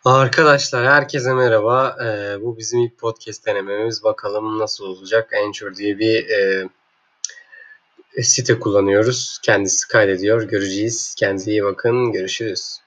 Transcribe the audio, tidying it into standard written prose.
Arkadaşlar herkese merhaba. Bu bizim ilk podcast denememiz. Bakalım nasıl olacak? Anchor diye bir site kullanıyoruz. Kendisi kaydediyor. Göreceğiz. Kendinize iyi bakın. Görüşürüz.